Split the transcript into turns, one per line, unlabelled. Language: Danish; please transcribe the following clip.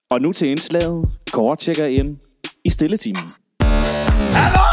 Og nu til indslaget. Kåre tjekker ind i stilletimen.
Hallo!